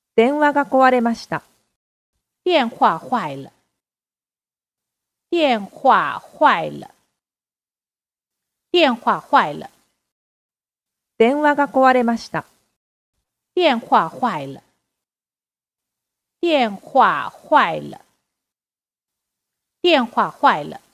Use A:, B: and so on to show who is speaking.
A: 電話が壊れました。
B: 电话坏了。电话坏了。电话坏了。
A: 電話が壊れました。
B: 电话坏了。电话坏了。电话坏了。